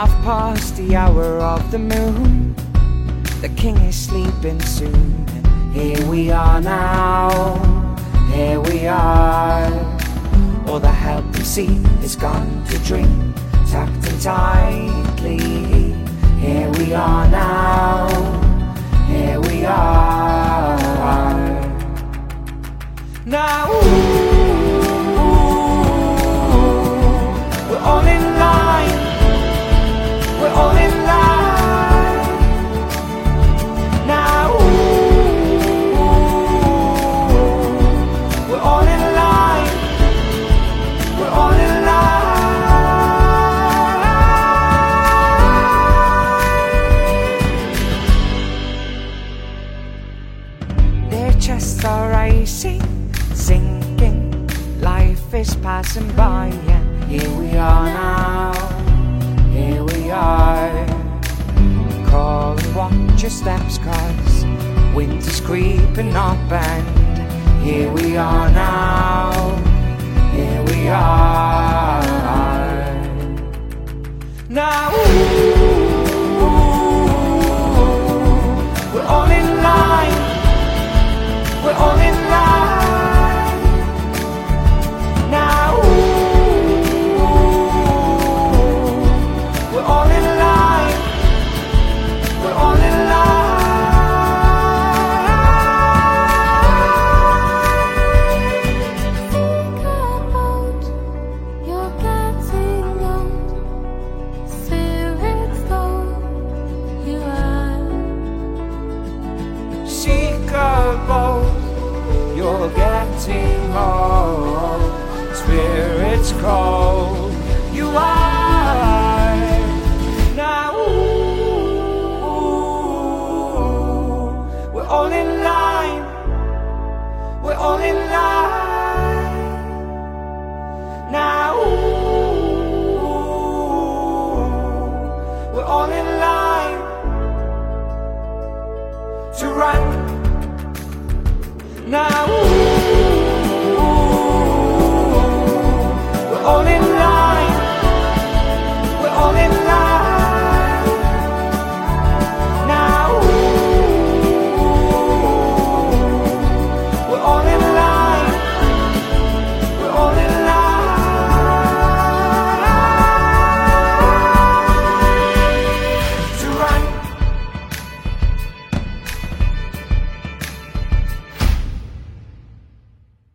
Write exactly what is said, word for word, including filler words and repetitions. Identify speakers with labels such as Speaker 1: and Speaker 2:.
Speaker 1: half past the hour of the moon. The king is sleeping soon. And here we are now, here we are. All the helpless sea is gone to dream, tucked in tightly. Here we are now, here we are. Now ooh, we're all in line, we're all in line. Now ooh, we're all in line, we're all in line. Their chests are rising, sinking, life is passing by, and here we are now, here we are. Call and watch your steps, cause winter's creeping up, and here we are now, here we are. Now ooh, we're all in line, we're all in line. Now ooh, we're all in line, we're all in line.
Speaker 2: Think about, you're getting old. Spirits cold, you are. Now ooh, we're all in line, we're all in line. Now ooh, we're all in line to run. Now